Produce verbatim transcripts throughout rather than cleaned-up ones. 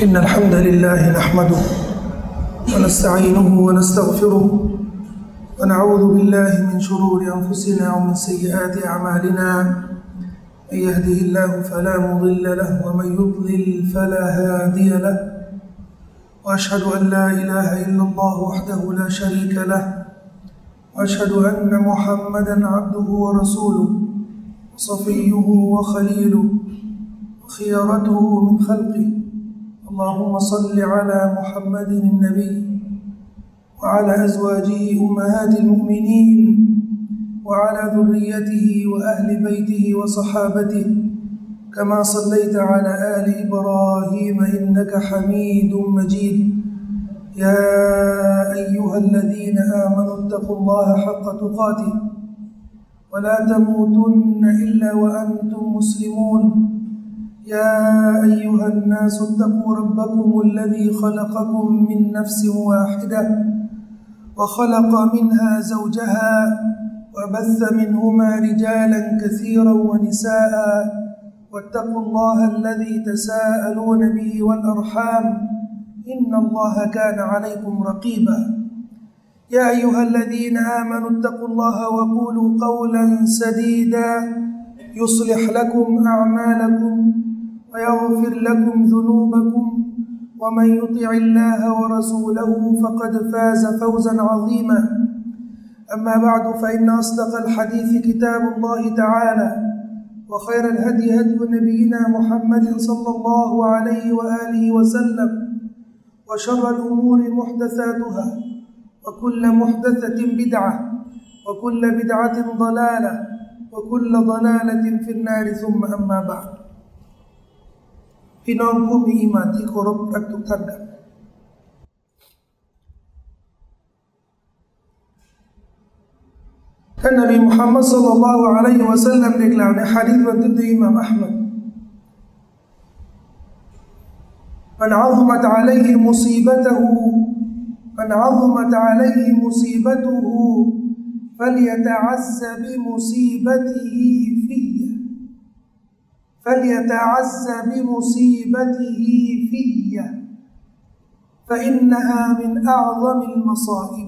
إن الحمد لله نحمده ونستعينه ونستغفره ونعوذ بالله من شرور أنفسنا ومن سيئات أعمالنا من يهده الله فلا مضل له ومن يضلل فلا هادي له وأشهد أن لا إله إلا الله وحده لا شريك له وأشهد أن محمدًا عبده ورسوله وصفيه وخليله وخيرته من خلقه اللهم صل على محمد النبي وعلى أزواجه أمهات المؤمنين وعلى ذريته وأهل بيته وصحابته كما صليت على آل إبراهيم إنك حميد مجيد يا أيها الذين آمنوا اتقوا الله حق تقاته ولا تموتن إلا وأنتم مسلمون يا أيها الناس اتقوا ربكم الذي خلقكم من نفس واحدة وخلق منها زوجها وبث منهما رجالا كثيرا ونساء واتقوا الله الذي تساءلون به والأرحام إن الله كان عليكم رقيبا يا أيها الذين آمنوا اتقوا الله وقولوا قولا سديدا يصلح لكم أعمالكم ويغفر لكم ذنوبكم ومن يطع الله ورسوله فقد فاز فوزا عظيما أما بعد فإن أصدق الحديث كتاب الله تعالى وخير الهدي هدي نبينا محمد صلى الله عليه وآله وسلم وشر الأمور محدثاتها وكل محدثة بدعة وكل بدعة ضلالة وكل ضلالة في النار ثم أما بعد พี่น้องผู้มีอีหม่านที่เคารพรักทุกท่านครับท่านนบีมุฮัมมัดศ็อลลัลลอฮุอะลัยฮิวะซัลลัมได้กล่าวในหะดีษบันทึกโดยอิหม่ามอะห์มัดมันอะซมัตอะลัยฮิมุซีบะตุฮูมันอะซมัตอะลัยฮิมุซีบะตุฮูفليتعز بمصيبته في فليتعز بمصيبته في فإنها من أعظم المصائب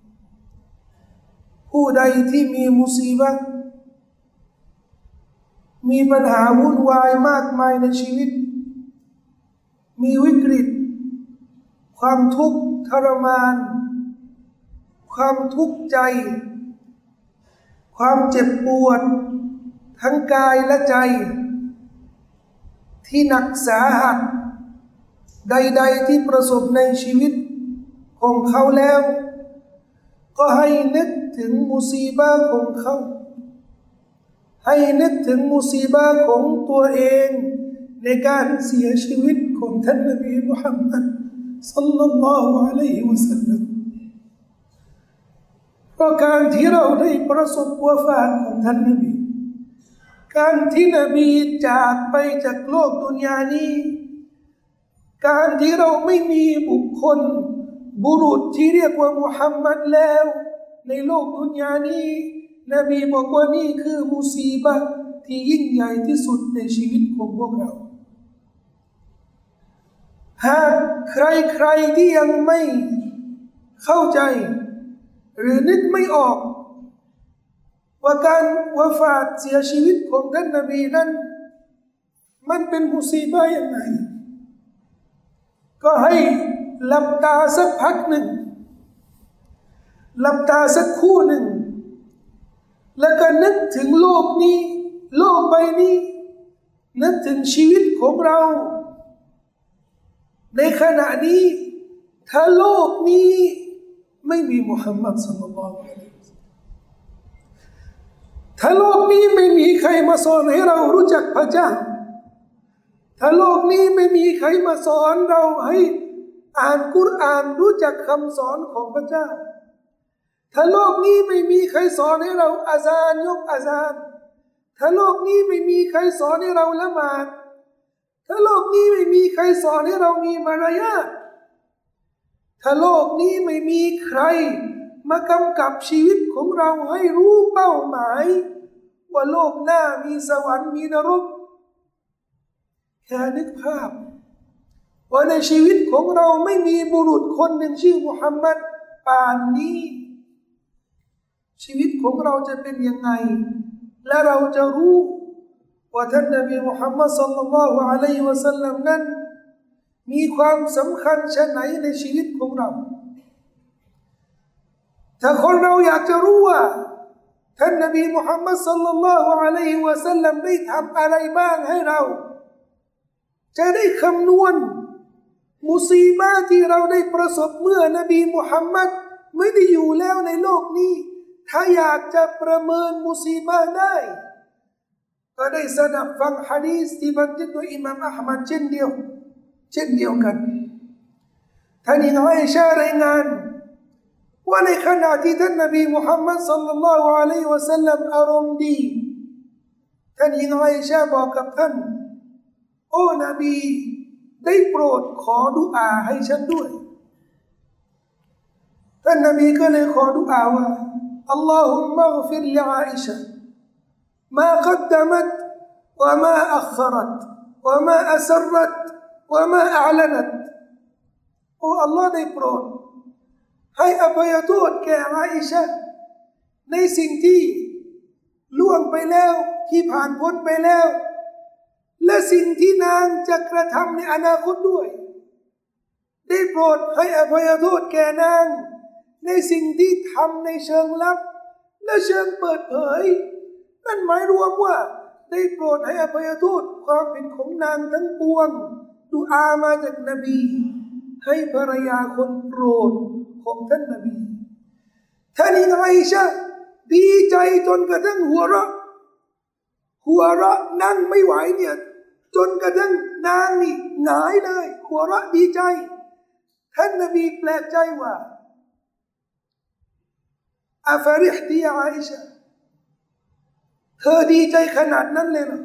ผู้ใดที่มีมุซีบะห์มีปัญหาวุ่นวายมากมายในชีวิตมีวิกฤตความทุกข์ทรมานความทุกข์ใจความเจ็บปวดทั้งกายและใจที่หนักสาหัสใดๆที่ประสบในชีวิตของเขาแล้วก็ให้นึกถึงมุซีบะห์ของเขาให้นึกถึงมุซีบะห์ของตัวเองในการเสียชีวิตของท่านนบีมุฮัมมัดศ็อลลัลลอฮุอะลัยฮิวะซัลลัมเพราะการที่เราได้ประสบวะฟาตของท่านนบีการที่นบีจากไปจากโลกดุนยานี้การที่เราไม่มีบุคคลบุรุษที่เรียกว่ามุฮัมมัดแล้วในโลกดุนยานี้นบีบอกว่านี่คือมุซีบะห์ที่ยิ่งใหญ่ที่สุดในชีวิตของพวกเราหากใครๆที่ยังไม่เข้าใจหรือนึกไม่ออกว่าการวะฟาตเสียชีวิตของท่านนบีนั้นมันเป็นมุซีบะห์ยังไงก็ให้หลับตาสักพักหนึ่งหลับตาสักครู่หนึ่งแล้วก็นึกถึงโลกนี้โลกใบนี้นึกถึงชีวิตของเราในขณะนี้ถ้าโลกนี้ไม่มีมุฮัมมัดศ็อลลัลลอฮุอะลัยฮิวะซัลลัมถ้าโลกนี้ไม่มีใครมาสอนให้เรารู้จักพระเจ้าถ้าโลกนี้ไม่มีใครมาสอนเราให้อ่านกุรอานรู้จักคำสอนของพระเจ้าถ้าโลกนี้ไม่มีใครสอนให้เราอาซานยกอาซานถ้าโลกนี้ไม่มีใครสอนให้เราละหมาดถ้าโลกนี้ไม่มีใครสอนให้เรามีมารยาทถ้าโลกนี้ไม่มีใครมากำกับชีวิตของเราให้รู้เป้าหมายว่าโลกหน้ามีสวรรค์มีนรก แค่นึกภาพว่าในชีวิตของเราไม่มีบุรุษคนหนึ่งชื่อมุฮัมมัดป่านนี้ชีวิตของเราจะเป็นยังไงและเราจะรู้ว่าท่านนบีมุฮัมมัดศ็อลลัลลอฮุอะลัยฮิวะซัลลัมนั้นมีความสำคัญชะไหนในชีวิตของเราถ้าคนเราอยากจะรู้ว่าท่านนบีมุฮัมมัดศ็อลลัลลอฮุอะลัยฮิวะซัลลัมได้ทำอะไรบ้างให้เราจะได้คำนวณมุซีบะห์ที่เราได้ประสบเมื่อนบีมุฮัมมัดไม่ได้อยู่แล้วในโลกนี้ถ้าอยากจะประเมินมุซีบะห์ได้ก็ได้สดับฟังหะดีษที่บันทึกโดยอิหม่ามอะห์มัดเช่นเดียวเช่นเดียวกันท่านหญิงอาอิชะห์รายงานว่าในขณะที่ท่านนบีมุฮัมมัดศ็อลลัลลอฮุอะลัยฮิวะซัลลัมอารมณ์ดีท่านหญิงอาอิชะห์บอกกับท่านโอ้นบีได้โปรดขอดุอาให้ฉันด้วยท่านนบีก็เลยขอดุอาว่าอัลลอฮุมมัฆฟิรลิอาอิชะห์มากัดดะมัตวะมาอัครัตวะมาอัสรัตวะมาอัลนัตโอ้อัลลอฮ์ได้โปรดให้อภัยโทษแก่อาอิชะห์ในสิ่งที่ล่วงไปแล้วที่ผ่านพ้นไปแล้วและสิ่งที่นางจะกระทำในอนาคตด้วยได้โปรดให้อภัยโทษแก่นางในสิ่งที่ทำในเชิงลับและเชิงเปิดเผยนั่นหมายรวมว่าได้โปรดให้อภัยโทษความผิดของนางทั้งปวงดุอามาจากนบีให้ภรรยาคนโปรดของท่านนบีท่านอาอิชะห์ดีใจจนกระทั่งหัวเราะหัวเราะนั่งไม่ไหวเนี่ยจนกระทั่งนางนี่หงายเลยหัวเราะดีใจท่านนบีแปลกใจว่าอัฟริฮติยาอาอิชะห์เธอดีใจขนาดนั้นเลยเหรอ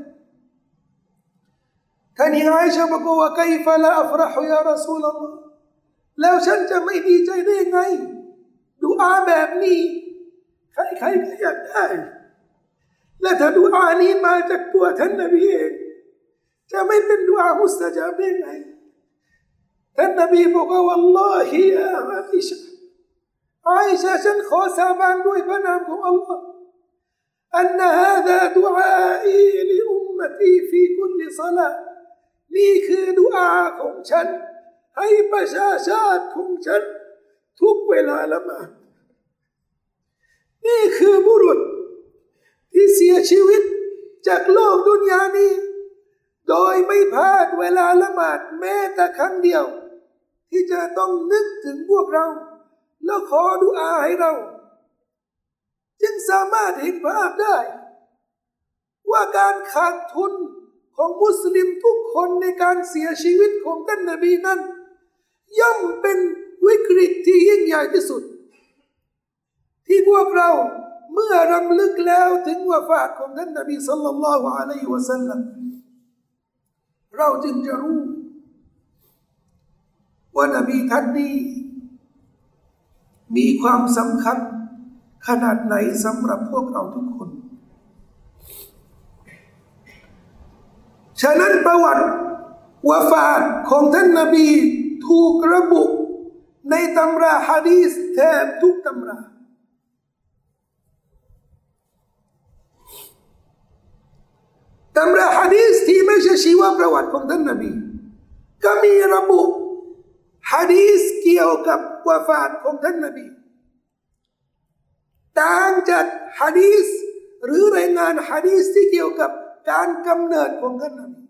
ท่านอาอิชะห์บอกว่าไคฟะลาอัฟรฮุยารอซูลอัลลอฮ์แล้วฉันจะไม่ดีใจได้ยังไงดุอาแบบนี้ใครๆก็อยากได้และถ้าดุอานี้มาจากตัวท่านนบีเองจะไม่เป็นดุอามุสตะญาบได้ไงท่านนบีบอกว่าวัลลอฮิยาอาอิชะห์อาอิชะห์ฉันขอสาบานด้วยพระนามของอัลลอฮ์อันฮาซาดุอาอีลิอุมมะตีฟีคุลลิศอลานี่คือดุอาของฉันให้ประชาชาติของฉันทุกเวลาละหมาดนี่คือบุรุษที่เสียชีวิตจากโลกดุนยานี้โดยไม่พลาดเวลาละหมาดแม้แต่ครั้งเดียวที่จะต้องนึกถึงพวกเราแล้วขอดุอาให้เราจึงสามารถเห็นภาพได้ว่าการขาดทุนของมุสลิมทุกคนในการเสียชีวิตของท่านนบีนั้นย่อมเป็นวิกฤตที่ยิ่งใหญ่ที่สุดที่พวกเราเมื่อรำลึกแล้วถึงวะฟาตของท่านนบีศ็อลลัลลอฮุอะลัยฮิวะซัลลัมเราจึงจะรู้ว่านบีท่านนี้มีความสำคัญขนาดไหนสำหรับพวกเราทุกคนฉะนั้นประวัติวะฟาตของท่านนบีถูกระบุในตำราหะดีษแทบทุกตำราตำราหะดีษที่ไม่ใช่ชีวประวัติของท่านนบีก็มีระบุหะดีษเกี่ยวกับวะฟาตของท่านนบีต่างจากหะดีษหรือรายงานหะดีษที่เกี่ยวกับการกำเนิดของท่านนบี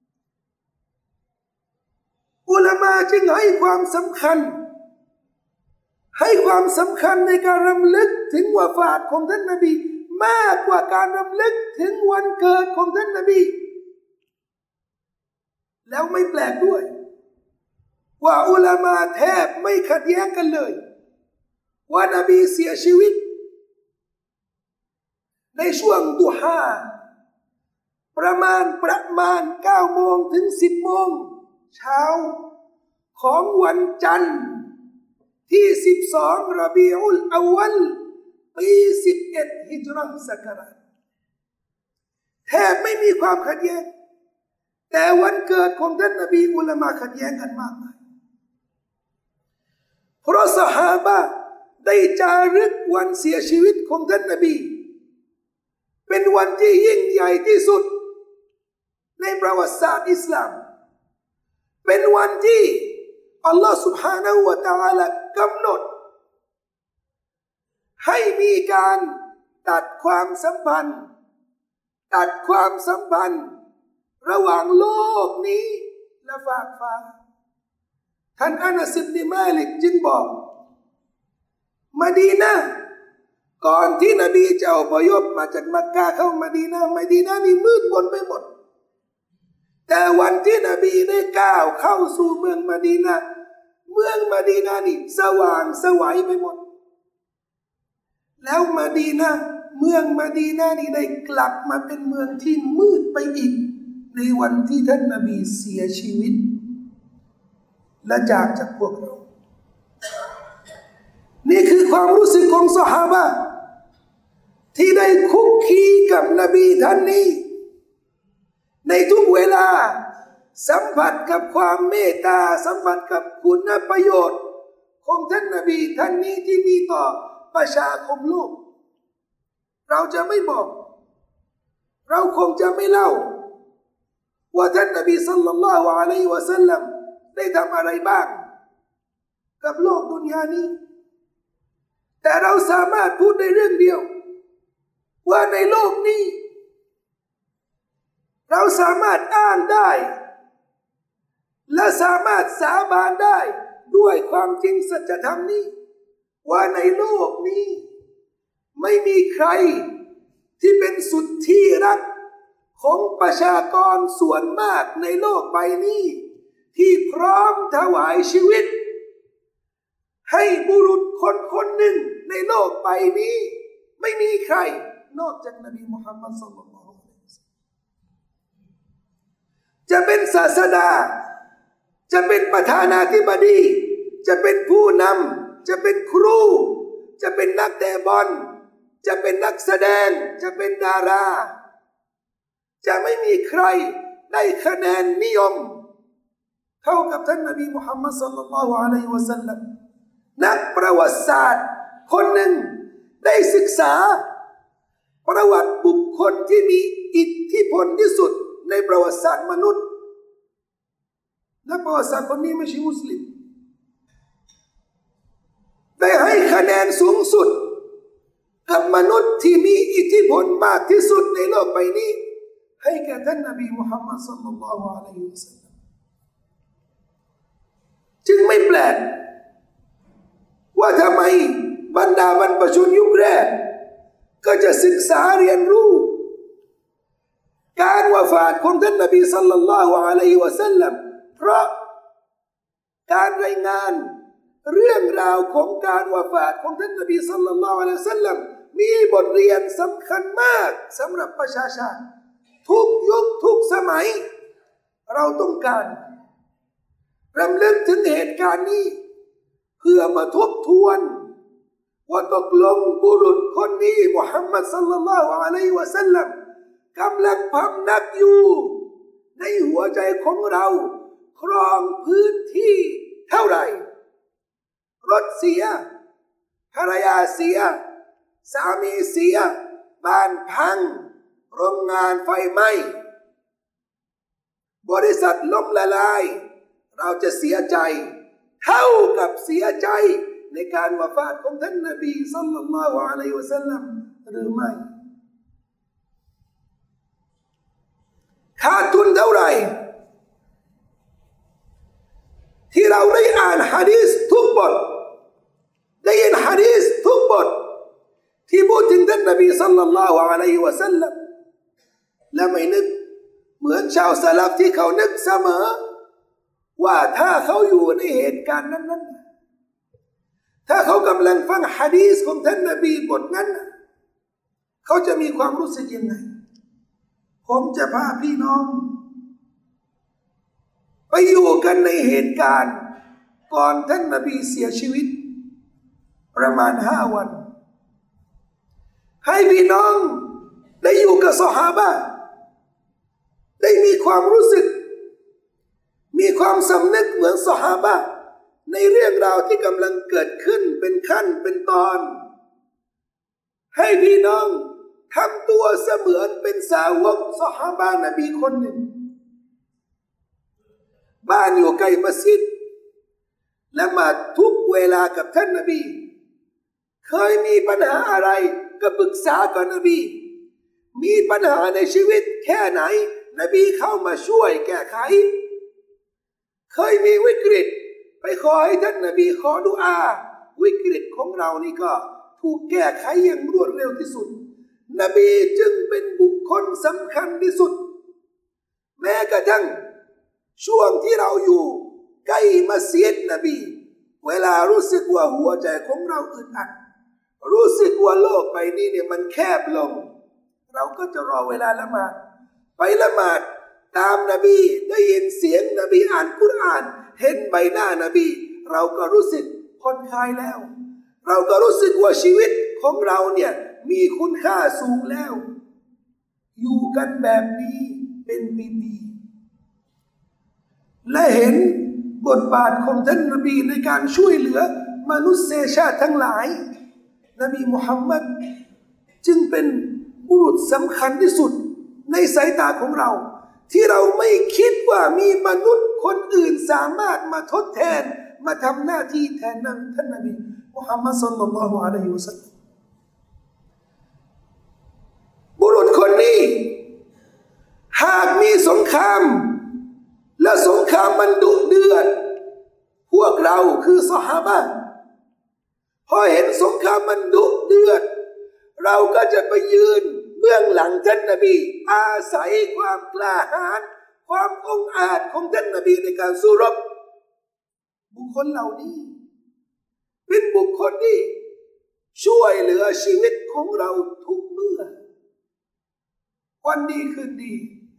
อุลามะจึงให้ความสำคัญให้ความสำคัญในการรำลึกถึงวะฟาตของท่านนบีมากกว่าการรำลึกถึงวันเกิดของท่านนบีแล้วไม่แปลกด้วยว่าอุลามะแทบไม่ขัดแย้งกันเลยว่านบีเสียชีวิตในช่วงดุฮาประมาณประมาณเก้าโมงถึงสิบโมงเช้าของวันจันทร์ที่สิบสองรบีอุลอวัลปีสิบเอ็ดฮิจเราะห์ศักราชแทบไม่มีความขัดแย้งแต่วันเกิดของท่านนบีอุลามะขัดแย้งกันมากมายเพราะซอฮาบะห์ได้จารึกวันเสียชีวิตของท่านนบีเป็นวันที่ยิ่งใหญ่ที่สุดในประวัติศาสตร์อิสลามเป็นวันที่อัลลอฮฺ سبحانه และ تعالى กำหนดให้มีการตัดความสัมพันธ์ตัดความสัมพันธ์ระหว่างโลกนี้และฟากฟ้าท่านอานัส อิบนุ มาลิกจึงบอกมะดีนะห์ก่อนที่นบีจะอพยพมาจากมักกะเข้ามะดีนะห์มะดีนะห์นี่มืดมนไปหมดแต่วันที่นบีได้ก้าวเข้าสู่เมืองมะดีนะห์เมืองมะดีนะห์นี่สว่างสวัยไปหมดแล้วมะดีนะห์เมืองมะดีนะห์นี่ได้กลับมาเป็นเมืองที่มืดไปอีกในวันที่ท่านนบีเสียชีวิตและจากจากพวกเรานี่คือความรู้สึกของซอฮาบะห์ที่ได้คุกคีกับนบีท่านนี้ในทุกเวลาสัมผัสกับความเมตตาสัมผัสกับคุณประโยชน์ของท่านนบีท่านนี้ที่มีต่อประชาคมโลกเราจะไม่บอกเราคงจะไม่เล่าว่าท่านนบีศ็อลลัลลอฮุอะลัยฮิวะซัลลัมได้ทำอะไรบ้างกับโลกดุนยานี้แต่เราสามารถพูดได้เรื่องเดียวว่าในโลกนี้เราสามารถอ้างได้และสามารถสาบานได้ด้วยความจริงสัจธรรมนี้ว่าในโลกนี้ไม่มีใครที่เป็นสุดที่รักของประชากรส่วนมากในโลกใบนี้ที่พร้อมถวายชีวิตให้บุรุษคนคนหนึ่งในโลกใบนี้ไม่มีใครนอกจากนบีมุฮัมมัดศ็อลลัลลอฮุอะลัยฮิวะซัลลัมจะเป็นศาสดาจะเป็นประธานาธิบดีจะเป็นผู้นำจะเป็นครูจะเป็นนักเตะบอลจะเป็นนักแสดงจะเป็นดาราจะไม่มีใครได้คะแนนนิยมเท่ากับท่านนบีมุฮัมมัดศ็อลลัลลอฮุอะลัยฮิวะซัลลัมนักประวัติศาสตร์คนหนึ่งได้ศึกษาประวัติบุคคลที่มีอิทธิพลที่สุดในประวัติศาสตร์มนุษย์และประวัติศาสตร์คนนี้ไม่ใช่มุสลิมได้ให้คะแนนสูงสุดกับมนุษย์ที่มีอิทธิพลมากที่สุดในโลกใบนี้ให้แก่ท่านนบีมุฮัมมัดศ็อลลัลลอฮุอะลัยฮิวะซัลลัมจึงไม่แปลกว่าทำไมบรรดาบรรพชนยุคแรกก็จะศึกษาเรียนรู้การวะฟาตของท่านนบีศ็อลลัลลอฮุอะลัยฮิวะซัลลัมเพราะการรายงานเรื่องราวของการวะฟาตของท่านนบีศ็อลลัลลอฮุอะลัยฮิวะซัลลัมมีบทเรียนสำคัญมากสำหรับประชาชาติทุกยุคทุกสมัยเราต้องการรำลึกถึงเหตุการณ์นี้เพื่อมาทบทวนว่าตกลงบุรุษคนนี้มุฮัมมัดศ็อลลัลลอฮุอะลัยฮิวะซัลลัมกำลังพำนักอยู่ในหัวใจของเราครองพื้นที่เท่าไหร่รถเสียภรรยาเสียสามีเสียบ้านพังโรงงานไฟไหม้บริษัทล้มละลายเราจะเสียใจเท่ากับเสียใจในการวะฟาตของท่านนบีศ็อลลัลลอฮุอะลัยฮิวะซัลลัมหรือไม่ขาดทุนเท่าไหร่ที่เราได้อ่านหะดีษทุกบทได้ยินหะดีษทุกบทที่พูดถึงท่านนบีศ็อลลัลลอฮุอะลัยฮิวะซัลลัมและไม่นึกเหมือนชาวสลับที่เขานึกเสมอว่าถ้าเขาอยู่ในเหตุการณ์นั้นๆถ้าเขากำลังฟังหะดีษของท่านนบีบทนั้นเขาจะมีความรู้สึกยังไงผมจะพาพี่น้องไปอยู่กันในเหตุการณ์ก่อนท่านนบีเสียชีวิตประมาณห้าวันให้พี่น้องได้อยู่กับซอฮาบะห์ได้มีความรู้สึกมีความสำนึกเหมือนซอฮาบะห์ในเรื่องราวที่กำลังเกิดขึ้นเป็นขั้นเป็นตอนให้พี่น้องทำตัวเสมือนเป็นสาวกซอฮาบะห์นบีคนหนึ่งบ้านอยู่ใกล้มัสยิดละหมาดทุกเวลากับท่านนบีเคยมีปัญหาอะไรก็ปรึกษากับนบีมีปัญหาในชีวิตแค่ไหนนบีเข้ามาช่วยแก้ไขเคยมีวิกฤตไปขอให้ท่านนบีขอดุอาวิกฤตของเรานี่ก็ถูกแก้ไขอย่างรวดเร็วที่สุดนบีจึงเป็นบุคคลสำคัญที่สุดแม้กระทั่งช่วงที่เราอยู่ใกล้มัสยิดนบีเวลารู้สึกว่าหัวใจของเราอึดอัดรู้สึกว่าโลกใบนี้เนี่ยมันแคบลงเราก็จะรอเวลาละหมาดไปละหมาดตามนบีได้ยินเสียงนบีอ่านกุรอานเห็นใบหน้านบีเราก็รู้สึกผ่อนคลายแล้วเราก็รู้สึกว่าชีวิตของเราเนี่ยมีคุณค่าสูงแล้วอยู่กันแบบนี้เป็นปีๆและเห็นบทบาทของท่านนบีในการช่วยเหลือมนุษยชาติทั้งหลายนบีมุฮัมมัดจึงเป็นบุรุษสำคัญที่สุดในสายตาของเราที่เราไม่คิดว่ามีมนุษย์คนอื่นสามารถมาทดแทนมาทำหน้าที่แทนนั้นท่านนบีมุฮัมมัดศ็อลลัลลอฮุอะลัยฮิวะซัลลัมบุรุษคนนี้หากมีสงครามและสงครามมันดุเดือดพวกเราคือซอฮาบะห์พอเห็นสงครามมันดุเดือดเราก็จะไปยืนเบื้องหลังท่านนบีอาศัยความกล้าหาญความองอาจของท่านนบีในการสู้รบบุคคลเหล่านี้เป็นบุคคลที่ช่วยเหลือชีวิตของเราทุกเมื่อวันดีคืนดี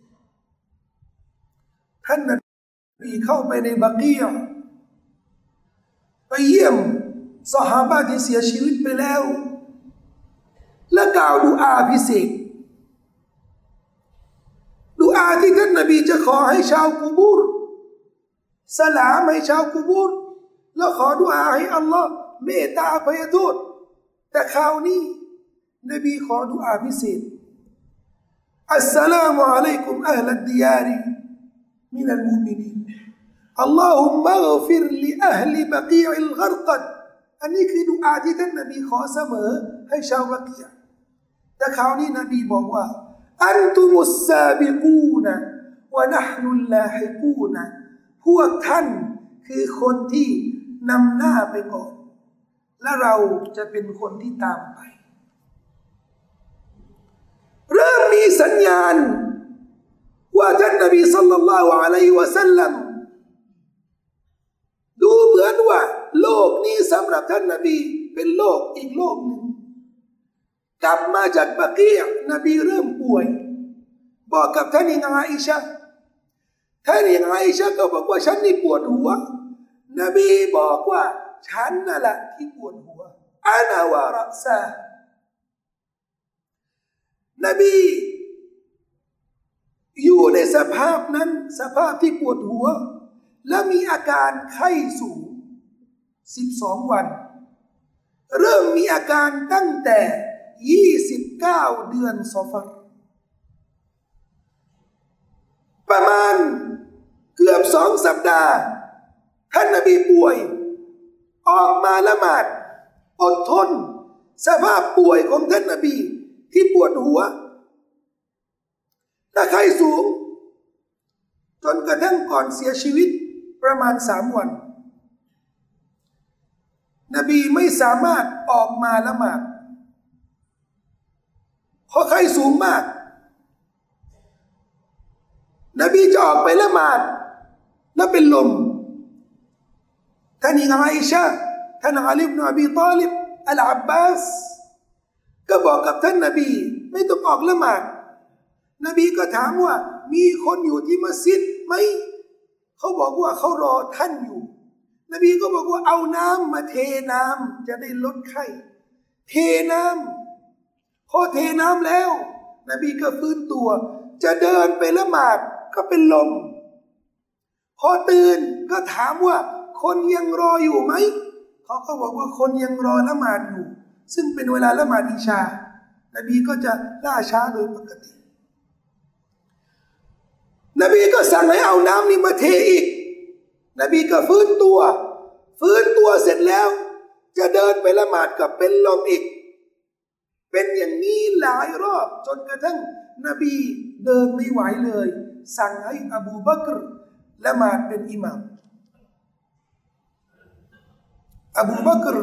ท่านนบีเข้าไปในบักียะห์ไปเยี่ยมซอฮาบะห์ที่เสียชีวิตไปแล้วและกล่าวดุอาพิเศษดุอาที่ท่านนบีจะขอให้ชาวกุบูรสลามให้ชาวกุบูรแล้วขอดุอาให้อัลลอฮ์เมตตาอภัยโทษแต่คราวนี้นบีขอดุอาพิเศษอัสสลามุอะลัยกุมอัลลดิยาริมินัลมุมินีนอัลลอฮุมะฆฟิรลิอัลลิบะกีอิลฆรกัดอันนี้คือดุอาที่ท่านนบีขอเสมอให้ชาวบักียะห์แต่คราวนี้นบีบอกว่าอันตุมุสซาบิกูนวะนะห์นุลลาฮิกูนพวกท่านคือคนที่นำหน้าไปก่อนและเราจะเป็นคนที่ตามไปเริ่มมีสัญญาณว่าท่านนบีศ็อลลัลลอฮุอะลัยฮิวะซัลลัมดูเหมือนว่าโลกนี้สำหรับท่านนบีเป็นโลกอีกโลกหนึ่งกลับมาจากบักียะห์นบีเริ่มป่วยบอกกับท่านอิงอาอิชะห์ท่านอิงอาอิชะห์ก็บอกว่าฉันนี่ปวดหัวนบีบอกว่าฉันนั่นแหละที่ปวดหัวอานะวะรัซานบีอยู่ในสภาพนั้นสภาพที่ปวดหัวและมีอาการไข้สูงสิบสองวันเริ่มมีอาการตั้งแต่ยี่สิบเก้าเดือนซอฟัรประมาณเกือบสองสัปดาห์ท่านนบีป่วยออกมาละหมาดอดทนสภาพป่วยของท่านนบีที่ปวดหัวและไข้สูงจนกระทั่งก่อนเสียชีวิตประมาณสามวันนบีไม่สามารถออกมาละหมาดเพราะไข้สูงมากนบีจะออกไปละหมาดแล้วเป็นลมท่านอาอิชะห์ท่านอาลีบินอบีฏอลิบอัลอับบาสก็บอกกับท่านนบีไม่ต้องออกละหมาดนบีก็ถามว่ามีคนอยู่ที่มัสยิดไหมเขาบอกว่าเขารอท่านอยู่นบีก็บอกว่าเอาน้ำมาเทน้ำจะได้ลดไข้เทน้ำพอเทน้ำแล้วนบีก็ฟื้นตัวจะเดินไปละหมาดก็เป็นลมพอตื่นก็ถามว่าคนยังรออยู่ไหมเขาก็บอกว่าคนยังรอละหมาดอยู่ซึ่งเป็นเวลาละหมาดอิชานบีก็จะล่าช้าโดยปกตินบีก็สั่งให้เอาน้ำนี่มาเทอีกนบีก็ฟื้นตัวฟื้นตัวเสร็จแล้วจะเดินไปละหมาดกับเป็นลมอีกเป็นอย่างนี้หลายรอบจนกระทั่งนบีเดินไม่ไหวเลยสั่งให้อบูบักรละหมาดเป็นอิหม่ามอบูบักร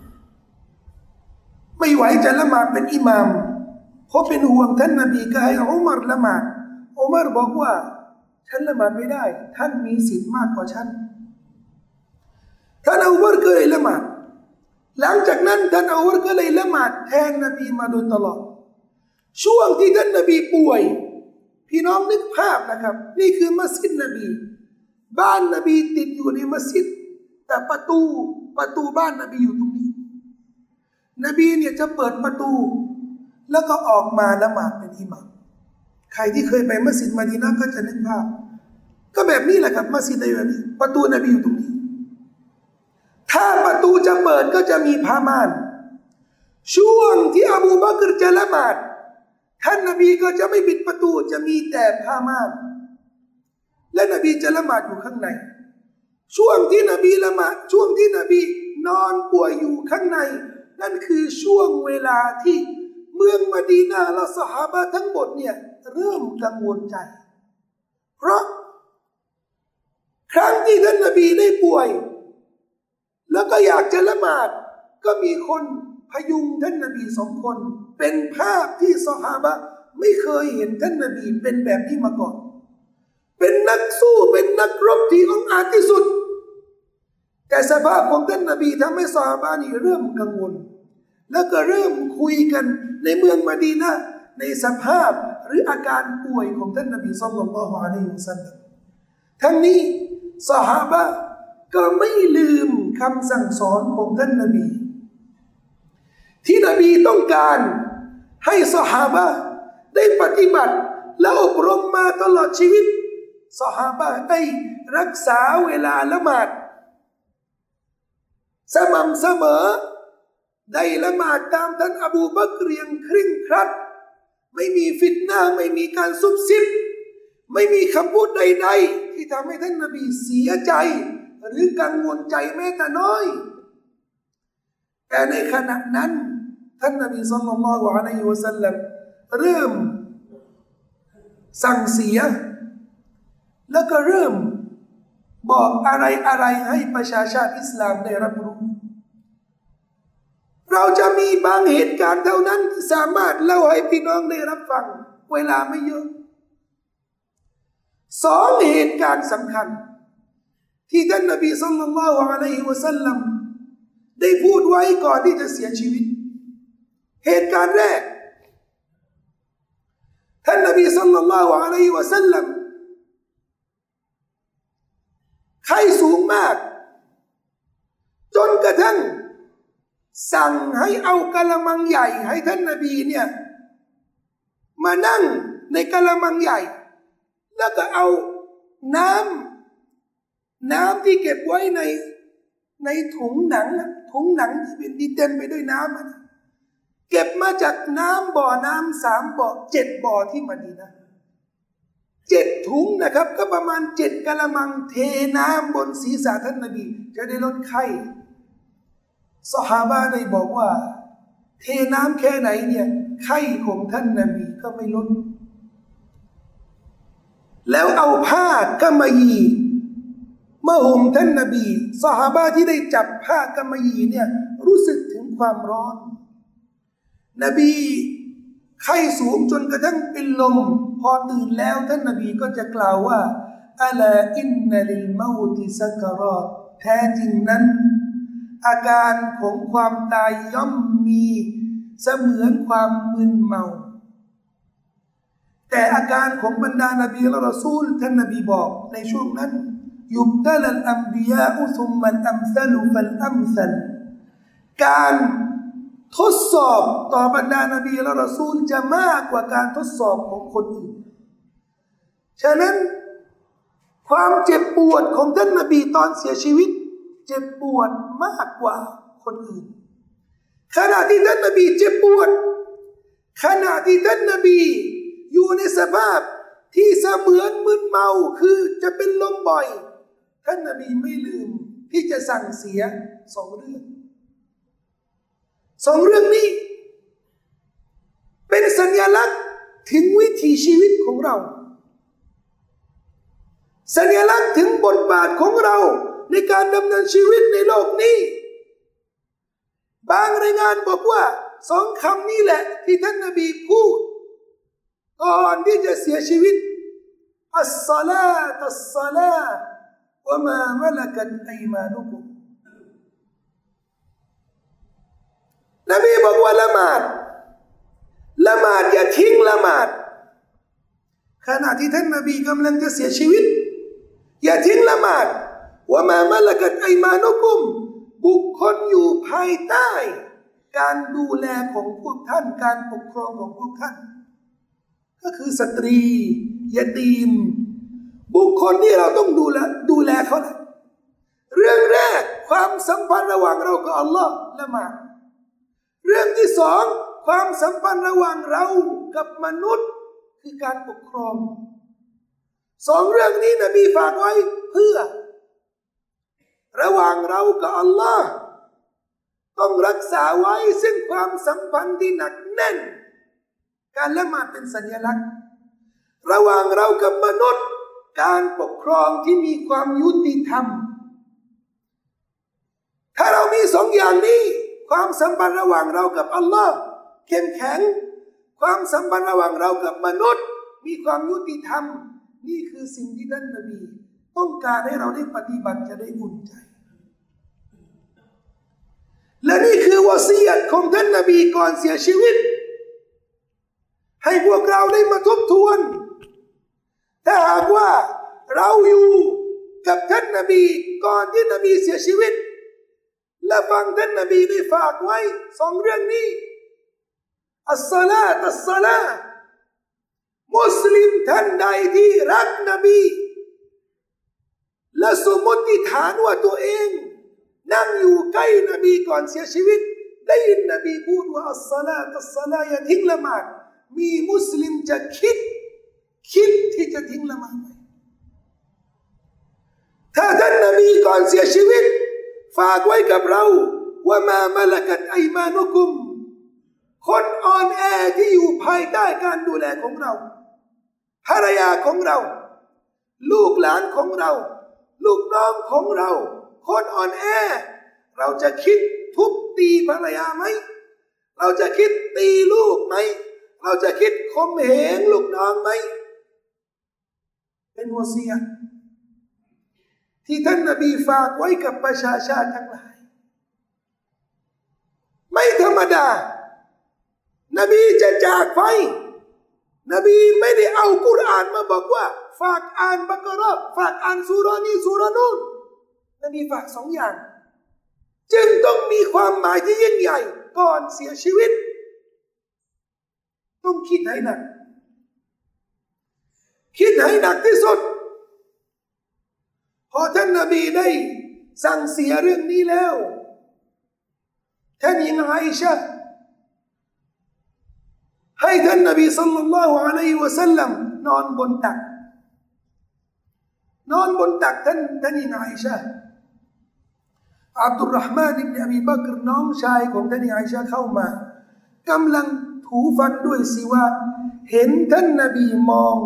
ไม่ไหวจะละหมาดเป็นอิหม่ามเพราะเป็นห่วงท่านนบีก็ให้อุมัรละหมาดอุมัรบอกว่าฉันละหมาดไม่ได้ท่านมีสิทธิ์มากกว่าฉันท่านอุมัรก็เลยละหมาดหลังจากนั้นท่านอุมัรก็เลยละหมาดแทนนบีมาโดยตลอดช่วงที่ท่านนบีป่วยพี่น้องนึกภาพนะครับนี่คือมัสยิดนบีบ้านนบีติดอยู่ในมัสยิดแต่ประตูประตูบ้านนบีอยู่ตรงนี้นบีเนี่ยจะเปิดประตูแล้วก็ออกมาละหมาดเป็นอิหม่ามใครที่เคยไปมัสยิดมะดีนะห์ก็จะนึกภาพก็แบบนี้แหละครับมัสยิดในแบบนี้ประตูนบีอยู่ตรงนี้ถ้าประตูจะเปิดก็จะมีผ้าม่านช่วงที่อบูบักรจะละหมาดท่านนบีก็จะไม่ปิดประตูจะมีแต่ผ้าม่านและนบีจะละหมาดอยู่ข้างในช่วงที่นบีละหมาดช่วงที่นบีนอนป่วยอยู่ข้างในนั่นคือช่วงเวลาที่เมืองมะดีนะห์และซอฮาบะห์ทั้งหมดเนี่ยเริ่มกังวลใจเพราะครั้งที่ท่านนบีได้ป่วยแล้วก็อยากจะละหมาดก็มีคนพยุงท่านนบีสองคนเป็นภาพที่ซอฮาบะห์ไม่เคยเห็นท่านนบีเป็นแบบนี้มาก่อนเป็นนักสู้เป็นนักรบที่องอาจที่สุดแต่สภาพของท่านนบีทำให้ซอฮาบะห์นี่เริ่มกังวลแล้วก็เริ่มคุยกันในเมืองมะดีนะห์ในสภาพหรืออาการป่วยของท่านนบีศ็อลลัลลอฮุอะลัยฮิวะซัลลัมทั้งนี้ซอฮาบะห์ก็ไม่ลืมคำสั่งสอนของท่านนบีที่นบีต้องการให้ซอฮาบะห์ได้ปฏิบัติและอบรมมาตลอดชีวิตซอฮาบะห์ได้รักษาเวลาละหมาดสม่ำเสมอได้ละหมาดตามท่านอบูบักรอย่างเคร่งครัดไม่มีฟิตนะห์ไม่มีการซุบซิบไม่มีคำพูดใดๆที่ทำให้ท่านนบีเสียใจหรือกังวลใจแม้แต่น้อยแต่ในขณะนั้นท่านนบีศ็อลลัลลอฮุอะลัยฮิวะซัลลัมเริ่มสั่งเสียแล้วก็เริ่มบอกอะไรอะไรให้ประชาชาติอิสลามได้รับรู้เราจะมีบางเหตุการณ์เท่านั้นที่สามารถเล่าให้พี่น้องได้รับฟังเวลาไม่เยอะสองเหตุการณ์สำคัญที่ท่านนบีศ็อลลัลลอฮุอะลัยฮิวะซัลลัมได้พูดไว้ก่อนที่จะเสียชีวิตเหตุการณ์แรกท่านนบีศ็อลลัลลอฮุอะลัยฮิวะซัลลัมไข้สูงมากจนกระทั่งสั่งให้เอากะละมังใหญ่ให้ท่านนบีเนี่ยมานั่งในกะละมังใหญ่แล้วก็เอาน้ำน้ำที่เก็บไว้ในในถุงหนังถุงหนังที่เป็นที่เต็มไปด้วยน้ำนะเก็บมาจากน้ำบ่อน้ำสามบ่อเจ็ดบ่อที่มะดีนะห์เจ็ดถุงนะครับก็ประมาณเจ็ดกะละมังเทน้ำบนศีรษะท่านนบีจะได้ลดไข้ซอฮาบะห์ได้บอกว่าเทน้ำแค่ไหนเนี่ยไข้ของท่านนบีก็ไม่ลดแล้วเอาผ้ากำมะหยี่มาห่มท่านนบีซอฮาบะห์ที่ได้จับผ้ากำมะหยี่เนี่ยรู้สึกถึงความร้อนนบีไข้สูงจนกระทั่งเป็นลมพอตื่นแล้วท่านนบีก็จะกล่าวว่าอะลาอินนะลิลเมาติซักรอตแท้จริงนั้นอาการของความตายย่อมมีเสมือนความมึนเมาแต่อาการของบรรดานบีและรอซูลท่านนบีบอกในช่วงนั้นยุบตะลัลอัมบิยาอุซุมมันอัมซลุฟัลอัมซัลการทดสอบต่อบรรดานบีและรอซูลจะมากกว่าการทดสอบของคนอื่นฉะนั้นความเจ็บปวดของท่านนบีตอนเสียชีวิตเจ็บปวดมากกว่าคนอื่นขณะที่ท่านนบีเจ็บปวดขณะที่ท่านนบีอยู่ในสภาพที่เสมือนมึนเมาคือจะเป็นลมบ่อยท่านนบีไม่ลืมที่จะสั่งเสียสองเรื่องสองเรื่องนี้เป็นสัญลักษณ์ถึงวิถีชีวิตของเราสัญลักษณ์ถึงบทบาทของเราในการดำเนินชีวิตในโลกนี้บางรายงานบอกว่าสองคำนี้แหละที่ท่านนบีพูดก่อนที่จะเสียชีวิตอัสศอลาตุสศอลาวะมามะละกัตอัยมานุกุมนบีบอกว่าละหมาดละหมาดอย่าทิ้งละหมาดขณะที่ท่านนบีกำลังจะเสียชีวิตอย่าทิ้งละหมาดวะมามะละกัตอัยมานุกุมบุคคลอยู่ภายใต้การดูแลของพวกท่านการปกครองของพวกท่านก็คือสตรียะตีมบุคคลที่เราต้องดูแลดูแลเขาแหละเรื่องแรกความสัมพันธ์ระหว่างเรากับอัลลอฮ์ละหมาดเรื่องที่สองความสัมพันธ์ระหว่างเรากับมนุษย์คือการปกครองสองเรื่องนี้นบีฝากไว้เพื่อระหว่างเรากับอัลลอฮ์ต้องรักษาไว้ซึ่งความสัมพันธ์ที่หนักแน่นการละหมาดเป็นสัญลักษณ์ระหว่างเรากับมนุษย์การปกครองที่มีความยุติธรรมถ้าเรามีสองอย่างนี้ความสัมพันธ์ระหว่างเรากับอัลลอฮ์เข้มแข็งความสัมพันธ์ระหว่างเรากับมนุษย์มีความยุติธรรมนี่คือสิ่งที่ท่านนบีต้องการให้เราได้ปฏิบัติจะได้อุ่นใจและนี่คือวะซียะห์ของท่านนบีก่อนเสียชีวิตให้พวกเราได้มาทบทวนถ้าหากว่าเราอยู่กับท่านนบีก่อนที่นบีเสียชีวิตและฟังท่านนบีได้ฝากไว้สองเรื่องนี้อัสศอลาตุสศอลามุสลิมท่านใดที่รักนบีและสมมติฐานว่าตัวเองนั่งอยู่ใกล้นบีก่อนเสียชีวิตได้ยินนบีพูดว่าอัสศอลาตุสศอลาอย่าทิ้งละหมาดมีมุสลิมจะคิดคิดที่จะทิ้งละหมาดไหมถ้าท่านนบีก่อนเสียชีวิตฝากไว้กับเราว่ามามะละกัตอัยมานุกุมคนอ่อนแอที่อยู่ภายใต้การดูแลของเราภรรยาของเราลูกหลานของเราลูกน้องของเราคนอ่อนแอเราจะคิดทุบตีภรรยาไหมเราจะคิดตีลูกไหมเราจะคิดข่มเหงลูกน้องไหมเป็นวะซียะห์ที่ท่านนบีฝากไว้กับประชาชาติทั้งหลายไม่ธรรมดานบีจะจากไปนบีไม่ได้เอากุรอานมาบอกว่าฝากอ่านบักเราะห์ฝากอ่านซูเราะห์นี้ซูเราะห์นู้นนบีฝากสองอย่างจึงต้องมีความหมายที่ยิ่งใหญ่ก่อนเสียชีวิตต้องคิดให้หนักคิดให้หนักที่สุดพอท่านนบีได้สั่งเสียเรื่องนี้แล้วท่านหญิงอาอิชะห์ให้ท่านนบีศ็อลลัลลอฮุอะลัยฮิวะซัลลัมนอนบนตักนอนบนตักท่านท่านหญิงอาอิชะห์อับดุลเราะห์มานอิบนุอบีบักรน้องชายของท่านหญิงอาอิชะห์เข้ามากำลังถูฟันด้วยสิวาเห็นท่านนบีมอง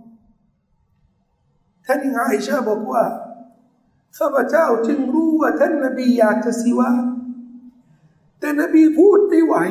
ท่านหญิงอาอิชะห์บอกว่าข้าพเจ้าจึงรู้ว่าท่านนบีอยากจะสิวาแต่นบีพูดไม่ไหว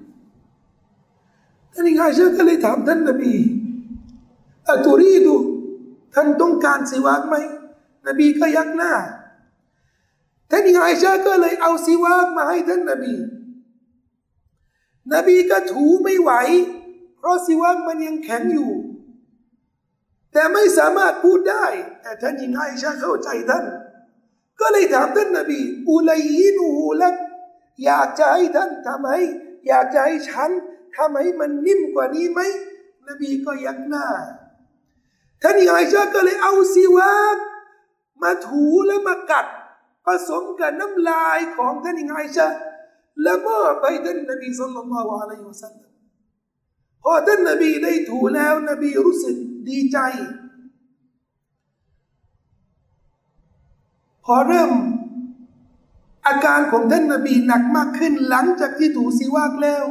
ท่านหญิงอาอิชะห์ก็เลยถามท่านนบีอะตุรีดูท่านต้องการสิวากไหมนบีก็ยักหน้าท่านหญิงอาอิชะห์ก็เลยเอาสิวากมาให้ท่านนบีนบีก็ถูไม่ไหวเพราะสิวากมันยังแข็งอยู่แต่ไม่สามารถพูดได้แต่ท่านหญิงอาอิชะห์เข้าใจท่านก็เลยถามท่านนบีอุลัยฮินูลักอยากจะให้ท่านทำให้อยากจะให้ฉันทำให้มันนิ่มกว่านี้ไหมนบีก็ยักหน้าท่านอาอิชะห์ก็เลยเอาซิวากมาถูและมากัดผสมกับน้ำลายของท่านอาอิชะห์และมอบให้ท่านนบีศ็อลลัลลอฮุอะลัยฮิวะซัลลัมพอท่านนบีได้ถูแล้วนบีรู้สึกดีใจพอเริ่มอาการของท่านนบีหนักมากขึ้นหลังจากที่ถูซิวากแล้ว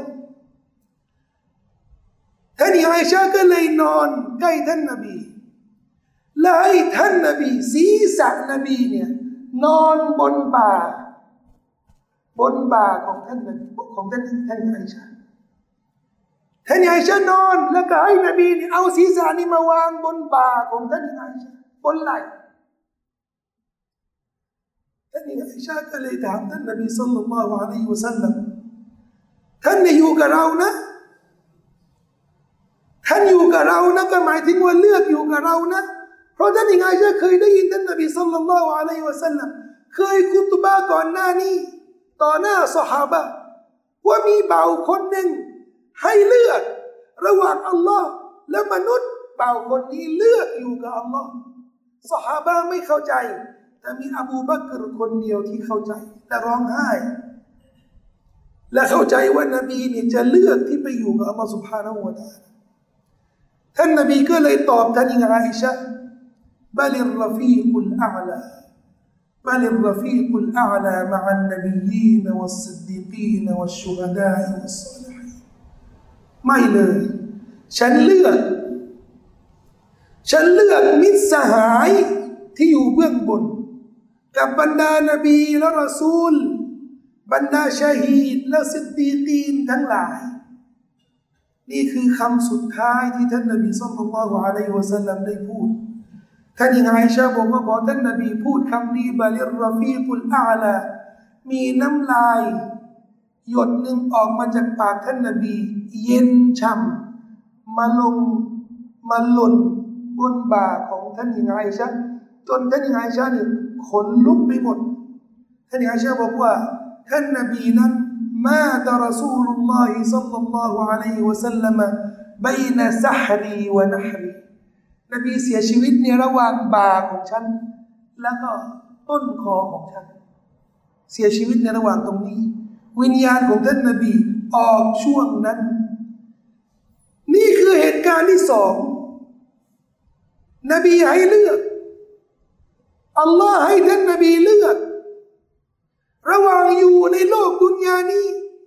ท่านอาอิชะห์ก็เลยนอนใกล้ท่านนบีและให้ท่านนบีศีรษะนบีเนี่ยนอนบนบ่าบนบ่าของท่านนบีของท่านท่านอาอิชะห์ท่านอาอิชะห์นอนแล้วก็ให้นบีเนี่ยเอาศีรษะนี้มาวางบนบ่าของท่านอาอิชะห์บนไหล่ท่านอาอิชะห์ก็เลยถามท่านนบีศ็อลลัลลอฮุอะลัยฮิวะซัลลัมท่านอยู่กับเรานะท่านอยู่กับเรานะก็หมายถึงว่าเลือกอยู่กับเรานะเพราะท่านอาอิชะห์เคยได้ยินท่านนบีศ็อลลัลลอฮุอะลัยฮิวะซัลลัมเคยคุตบะห์ก่อนหน้านี้ต่อหน้าซอฮาบะห์ว่ามีบ่าวคนหนึ่งให้เลือกระหว่างอัลลอฮ์และมนุษย์บ่าวคนนี้เลือกอยู่กับอัลลอฮ์ซอฮาบะห์ไม่เข้าใจแต่มีอบูบักรคนเดียวที่เข้าใจและร้องไห้และเข้าใจว่านบีเนี่ยจะเลือกที่ไปอยู่กับอัลลอฮ์ سبحانه และ تعالى ท่านนบีก็เลยตอบท่านอาอิชะห์บัลิรรฟีกุลอาลาบัลิรรฟีกุลอาลามะอันนบียีนวัสซิดดีกีนวัชชุฮดาอิวัสศอลิฮีนไม่เลยฉันเลือกฉันเลือกมิตรสหายที่อยู่เบื้องบนกับบรรดานบีและรอซูลบรรดาชะฮีดและซิดดีกีนทั้งหลายนี่คือคำสุดท้ายที่ท่านนบีศ็อลลัลลอฮุอะลัยฮิวะซัลลัมได้พูดท่านอาอิชะห์บอกว่าพอท่านนบีพูดคำนี้บัลิรรฟีกุลอาลามีน้ำลายหยดหนึ่งออกมาจากปากท่านนบีเย็นช่ำมาลงมาหล่นบนบ่าของท่านอาอิชะห์จนท่านอาอิชะห์นี่ขนลุกไปหมดท่านอาอิชะห์บอกว่าท่านนบีนั้นมาตะรอซูลุลลอฮิศ็อลลัลลอฮุอะลัยฮิวะซัลลัมบัยนะซะฮรีวะนะฮรีนบีเสียชีวิตในระหว่างบ่าของฉันแล้วก็ต้นคอของฉันเสียชีวิตในระหว่างตรงนี้วิญญาณของท่านนบีออกช่วงนั้นนี่คือเหตุการณ์ที่สองนบีให้เลือกอัลลอฮ์ให้ท่านนบีเลือกระหว่างอยู่ในโลกดุนยานี้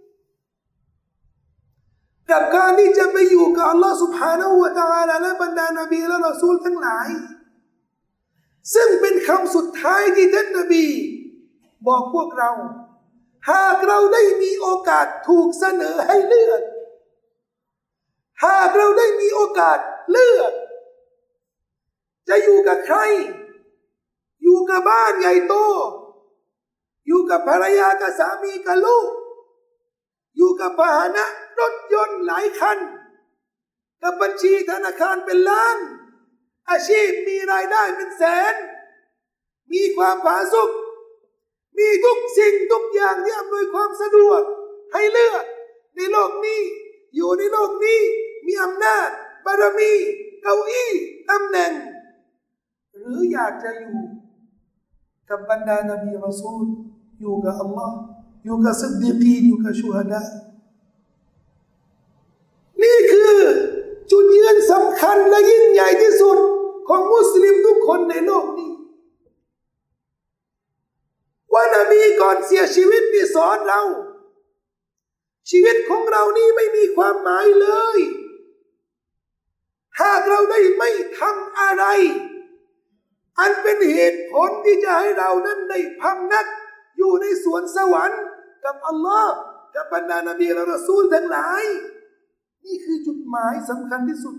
กับการที่จะไปอยู่กับอัลลอฮ์ سبحانه และ تعالى และบรรดานบีและรอซูลทั้งหลายซึ่งเป็นคำสุดท้ายที่ท่านนบีบอกพวกเราหากเราได้มีโอกาสถูกเสนอให้เลือกหากเราได้มีโอกาสเลือกจะอยู่กับใครอยู่กับบ้านใหญ่โตอยู่กับภรรยากับสามีกับลูกอยู่กับพาหนะรถยนต์หลายคันกับบัญชีธนาคารเป็นล้านอาชีพมีรายได้เป็นแสนมีความผาสุกมีทุกสิ่งทุกอย่างที่อำนวยความสะดวกให้เลือกในโลกนี้อยู่ในโลกนี้มีอำนาจบารมีเก้าอี้ตำแหน่งหรืออยากจะอยู่กับบรรดานบีรอซูลอยู่กับอัลลอฮ์อยู่กับซิดดีกีนอยู่กับชูฮดานี่คือจุดยืนสำคัญและยิ่งใหญ่ที่สุดของมุสลิมทุกคนในโลกนี้ว่านบีก่อนเสียชีวิตนี่สอนเราชีวิตของเรานี่ไม่มีความหมายเลยหากเราได้ไม่ทำอะไรอันเป็นเหตุผลที่จะให้เรานั้นได้พำนักอยู่ในสวนสวรรค์กับอัลลอฮ์กับบรรดานบีและรอซูลทั้งหลายนี่คือจุดหมายสำคัญที่สุด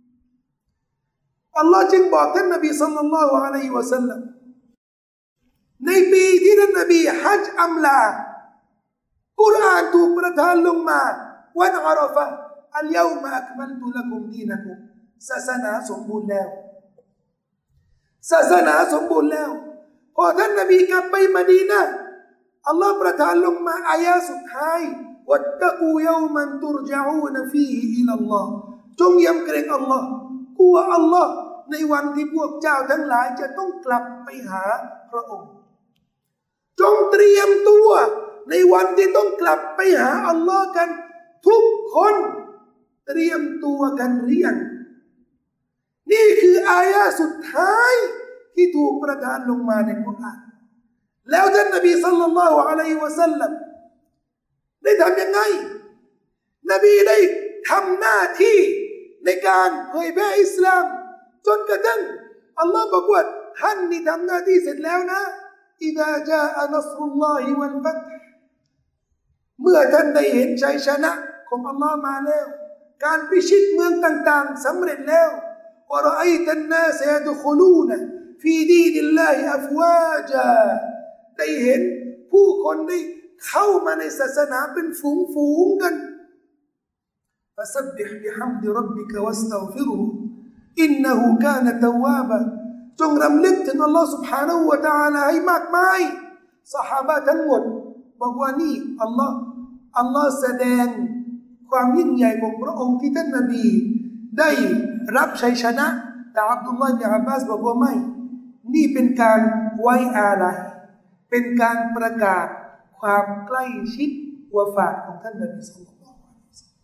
อัลลอฮ์จึงบอกท่านนบีศ็อลลัลลอฮุอะลัยฮิวะซัลลัมในปีที่ท่านนบีฮัจญ์อัมลากุรอานถูกประทานลงมาวันอาราฟะห์อัลยอมะอักมัลตุละกุมดีนะกุมศาสนาสมบูรณ์แล้วศาสนาสมบูรณ์แล้วพอท่านนบีกลับไปมะดีนะห์อัลลอฮ์ประทานลงมาอายะสุดท้ายวัตตะกูยอมันตุรญะอูนฟีฮิอิลัลลอฮ์จงยำเกรงอัลลอฮ์กลัวอัลลอฮ์ในวันที่พวกเจ้าทั้งหลายจะต้องกลับไปหาพระองค์จงเตรียมตัวในวันที่ต้องกลับไปหาอัลลอฮ์กันทุกคนเตรียมตัวกันหรือยังนี่คืออายะห์สุดท้ายที่ถูกประทานลงมาในกุรอานแล้วท่านนบีศ็อลลัลลอฮุอะลัยฮิวะซัลลัมได้ทำยังไงนบีได้ทำหน้าที่ในการเผยแพร่อิสลามจนกระทั่งอัลลอฮ์บอกว่าท่านนี่ทำหน้าที่เสร็จแล้วนะอิซาจาอะนัศรุลลอฮิวัลฟัตฮ์เมื่อท่านได้เห็นชัยชนะของอัลลอฮ์มาแล้วการพิชิตเมืองต่างๆสำเร็จแล้ววะรออัยตันนาสยะดุคุลูนฟีดีนิลลาฮิอัฟวาจาได้เห็นผู้คนได้เข้ามาในศาสนาเป็นฝูงๆกันفسبح بحمد ربك واستغفره إنه كان توابا จงรำลึกถึงอัลลอฮฺ سبحانه และ تعالى ให้มากมายซอฮาบะห์ทั้งหมดบอกว่านี่อัลลอฮฺอัลลอฮฺแสดงความยิ่งใหญ่ของพระองค์ที่ท่านนบีได้รับชัยชนะแต่อับดุลลอฮฺ บินอับบาสบอกว่าไม่นี่เป็นการไว้อาลัยเป็นการประกาศความใกล้ชิดวะฟาตของท่านนบีศ็อลลัลลอฮุอะลัยฮิวะซัลลัม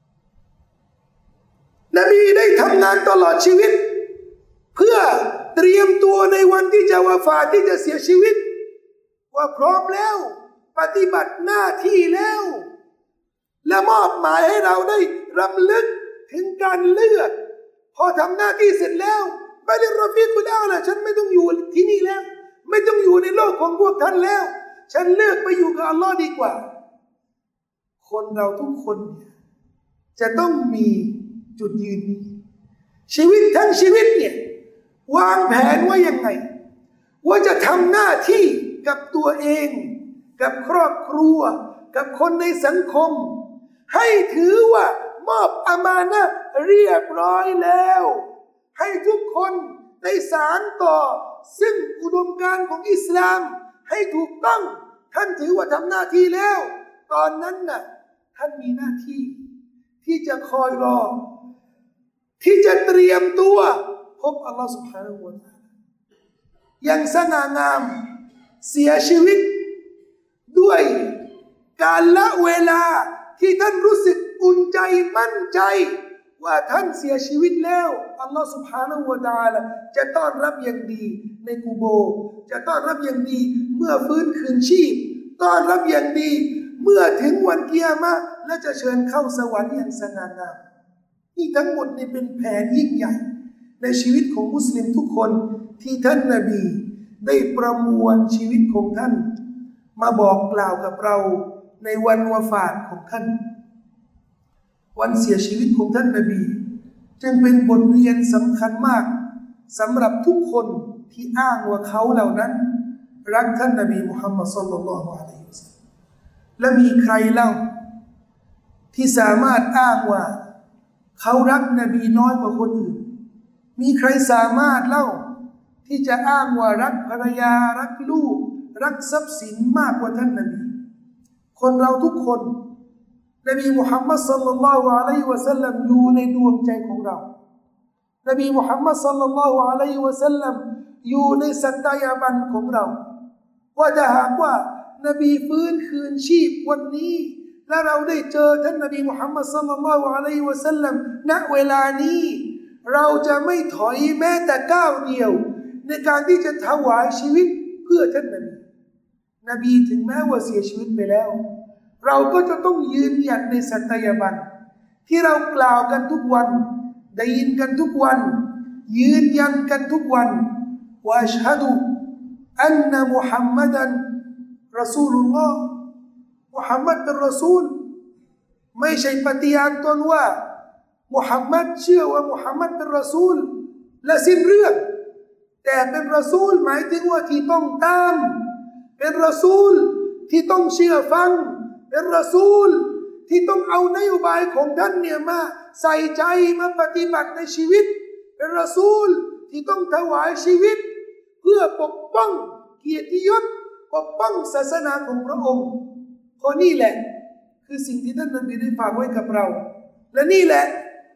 นบีได้ทำงานตลอดชีวิตเพื่อเตรียมตัวในวันที่จะวะฟาตที่จะเสียชีวิตว่าพร้อมแล้วปฏิบัติหน้าที่แล้วและมอบหมายให้เราได้รำลึกถึงการเลือกพอทำหน้าที่เสร็จแล้วไปเรียนรอฟีกุลอาละฉันไม่ต้องอยู่ที่นี่แล้วไม่ต้องอยู่ในโลกของพวกท่านแล้วฉันเลือกไปอยู่กับอัลลอฮ์ดีกว่าคนเราทุกคนจะต้องมีจุดยืนนี้ชีวิตทั้งชีวิตเนี่ยวางแผนว่ายังไงว่าจะทำหน้าที่กับตัวเองกับครอบครัวกับคนในสังคมให้ถือว่ามอบอามานะห์เรียบร้อยแล้วให้ทุกคนได้สานต่อซึ่งอุดมการณ์ของอิสลามให้ถูกต้องท่านถือว่าทำหน้าที่แล้วตอนนั้นน่ะท่านมีหน้าที่ที่จะคอยรอที่จะเตรียมตัวพบอัลลอฮฺ سبحانه และ تعالى อย่างสง่างามเสียชีวิตด้วยการละเวลาที่ท่านรู้สึกอุ่นใจมั่นใจว่าท่านเสียชีวิตแล้วอัลลอฮฺ سبحانه และ تعالى จะต้อนรับอย่างดีในกุโบร์จะต้อนรับอย่างดีเมื่อฟื้นคืนชีพต้อนรับอย่างดีเมื่อถึงวันกิยามะห์และจะเชิญเข้าสวรรค์อย่างสง่างามนี่ทั้งหมดนี่เป็นแผนยิ่งใหญ่ในชีวิตของมุสลิมทุกคนที่ท่านนบีได้ประมวลชีวิตของท่านมาบอกกล่าวกับเราในวันวะฟาตของท่านวันเสียชีวิตของท่านนบีจึงเป็นบทเรียนสำคัญมากสำหรับทุกคนที่อ้างว่าเขาเหล่านั้นรักท่านนบีมุฮัมมัดศ็อลลัลลอฮุอะลัยฮิวะซัลลัมและมีใครเล่าที่สามารถอ้างว่าเขารักนบีน้อยกว่าคนอื่นมีใครสามารถเล่าที่จะอ้างว่ารักภรรยารักลูกรักทรัพย์สินมากกว่าท่านนบีคนเราทุกคนนบีมุฮัมมัดศ็อลลัลลอฮุอะลัยฮิวะซัลลัมอยู่ในดวงใจของเรานบีมุฮัมมัดศ็อลลัลลอฮุอะลัยฮิวะซัลลัมอยู่ในสัตยาบันของเราว่าถ้าหากว่านบีฟื้นคืนชีพวันนี้และเราได้เจอท่านนบีมุฮัมมัดศ็อลลัลลอฮุอะลัยฮิวะซัลลัมณเวลานี้เราจะไม่ถอยแม้แต่ก้าวเดียวในการที่จะถวายชีวิตเพื่อท่านนบีนบีถึงแม้ว่าเสียชีวิตไปแล้วเราก็จะต้องยืนหยัดในสัตยาบันที่เรากล่าวกันทุกวันได้ยินกันทุกวันยืนยันกันทุกวันว่าอัชฮะดุอันนะมุฮัมมัดันรอซูลุลลอฮ์มุฮัมมัดเป็นรอซูลไม่ใช่ปฏิญาณตนว่ามุฮัมมัดเชื่อว่ามุฮัมมัดเป็นรอซูลและสิ้นเรื่องแต่เป็นรอซูลหมายถึงว่าที่ต้องตามเป็นรอซูลที่ต้องเชื่อฟังเป็นรอซูลที่ต้องเอานโยบายของท่านเนี่ยมาใส่ใจมาปฏิบัติในชีวิตเป็นรอซูลที่ต้องถวายชีวิตเพื่อปกป้องเกียรติยศปกป้องศาสนาของพระองค์เพราะนี่แหละคือสิ่งที่ท่านนบีได้ฝากไว้กับเราและนี่แหละ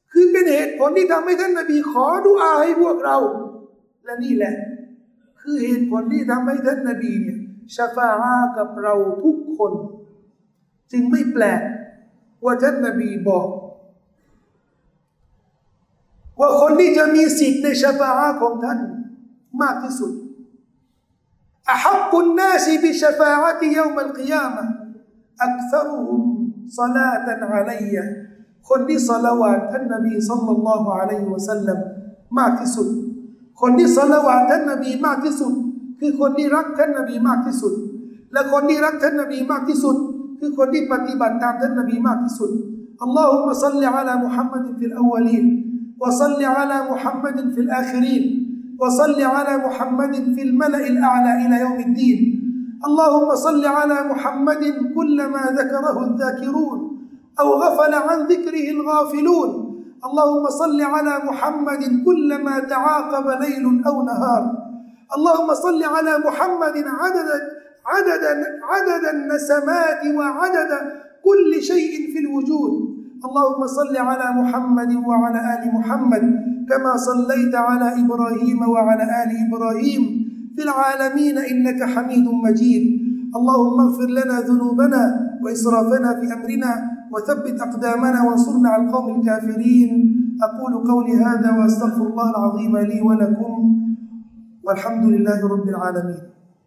คือเป็นเหตุผลที่ทำให้ท่านนบีขอดุอาให้พวกเราและนี่แหละคือเหตุผลที่ทำให้ท่านนบีเนี่ยชะฟาอะห์กับเราทุกคนจึงไม่แปลกว่าท่านนบีบอกว่าคนที่จะมีสิทธิ์ในชะฟาอะห์ของท่านมากที่สุดอะฮับกุนนาสบิชะฟาอะติยอมัลกิยามะฮ์อักษรุฮุมศอลาตันอะลัยยะคนที่ศอลาวาตท่านนบีศ็อลลัลลอฮุอะลัยฮิวะซัลลัมมากที่สุดคนที่ศอลาวาตท่านนบีมากที่สุดคือคนที่รักท่านนบีมากที่สุดและคนที่รักท่านนบีมากที่สุดคือคนที่ปฏิบัติตามท่านนบีมากที่สุดอัลลอฮุมมะศ็อลลิอะลามุฮัมมัดฟิลอวัลีนวะศ็อลลิอะลามุฮัมมัดฟิลอาคิรีนวะศ็อลลิอะลามุฮัมมัดฟิลมะละอิลอาลาอิลายอมิดดีนاللهم صل على محمد كلما ذكره الذاكرون أو غفل عن ذكره الغافلون اللهم صل على محمد كلما تعاقب ليل أو نهار اللهم صل على محمد عدد عدد عدد النسمات وعدد كل شيء في الوجود اللهم صل على محمد وعلى آل محمد كما صليت على إبراهيم وعلى آل إبراهيم في العالمين إنك حميد مجيد اللهم اغفر لنا ذنوبنا وإسرافنا في أمرنا وثبت أقدامنا وانصرنا على القوم الكافرين أقول قولي هذا وأستغفر الله العظيم لي ولكم والحمد لله رب العالمين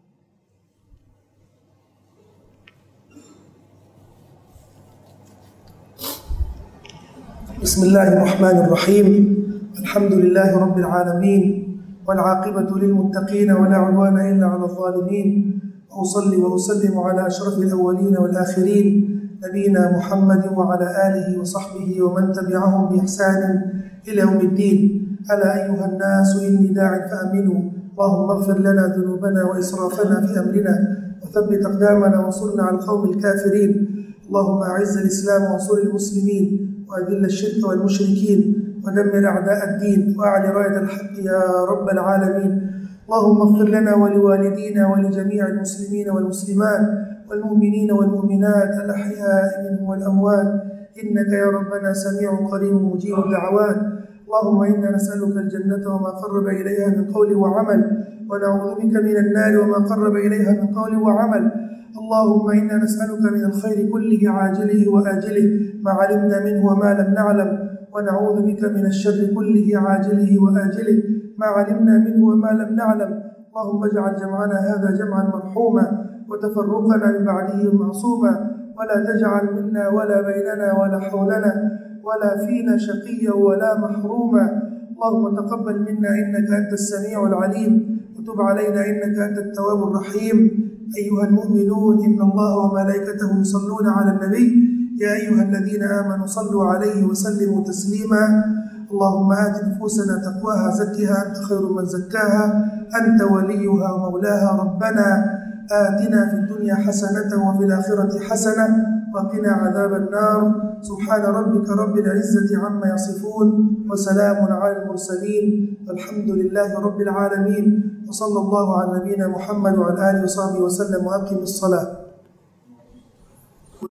بسم الله الرحمن الرحيم الحمد لله رب العالمين والعاقبة للمتقين ولا عدوان إلا على الظالمين وأصلي وأسلم على أشرف الأولين والآخرين نبينا محمد وعلى آله وصحبه ومن تبعهم بإحسان إلى يوم الدين ألا أيها الناس إني داع فآمنوا اللهم اغفر لنا ذنوبنا وإسرافنا في أمرنا وثبت أقدامنا وانصرنا على القوم الكافرين اللهم أعز الإسلام وانصر المسلمين وأذل الشرك والمشركين ودمر أعداء الدين وأعل راية الحق يا رب العالمين اللهم اغفر لنا ولوالدينا ولجميع المسلمين والمسلمات والمؤمنين والمؤمنات الأحياء منهم والأموات إنك يا ربنا سميع قريب مجيب الدعوات اللهم إنا نسألك الجنة وما قرب إليها من قول وعمل ونعوذ بك من النار وما قرب إليها من قول وعمل اللهم إنا نسألك من الخير كله عاجله وآجله ما علمنا منه وما لم نعلم ونعوذ بك من الشر كله عاجله وآجله ما علمنا منه وما لم نعلم اللهم اجعل جمعنا هذا جمعا مرحوما وتفرقنا من بعده معصوما ولا تجعل منا ولا بيننا ولا حولنا ولا فينا شقيا ولا محروما اللهم تقبل منا إنك أنت السميع العليم وتب علينا إنك أنت التواب الرحيم أيها المؤمنون إن الله وملائكته يصلون على النبي يا أيها الذين آمنوا صلوا عليه وسلموا تسليما اللهم آت نفوسنا تقواها زكها أنت خير من زكاها أنت وليها ومولاها ربنا آتنا في الدنيا حسنة وفي الآخرة حسنة وقنا عذاب النار سبحان ربك رب العزة عما يصفون وسلام على المرسلين والحمد لله رب العالمين وصلى الله على نبينا محمد وعلى آله وصحبه وسلم وأقم الصلاة